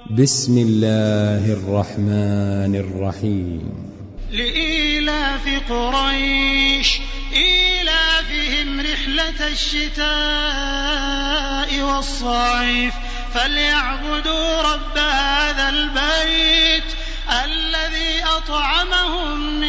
بسم الله الرحمن الرحيم. لإيلاف قريش إيلافهم رحلة الشتاء والصيف فليعبدوا رب هذا البيت الذي أطعمهم